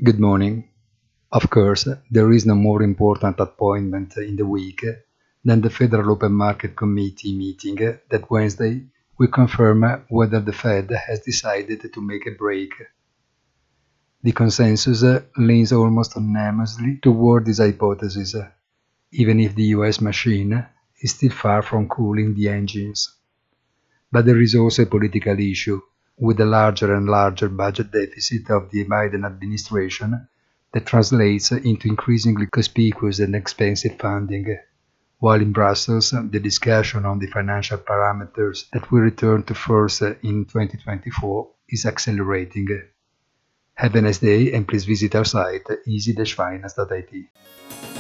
Good morning. Of course, there is no more important appointment in the week than the Federal Open Market Committee meeting that Wednesday will confirm whether the Fed has decided to make a break. The consensus leans almost unanimously toward this hypothesis, even if the US machine is still far from cooling the engines. But there is also a political issue, with the larger and larger budget deficit of the Biden administration that translates into increasingly conspicuous and expensive funding, while in Brussels the discussion on the financial parameters that will return to force in 2024 is accelerating. Have a nice day and please visit our site easy-finance.it.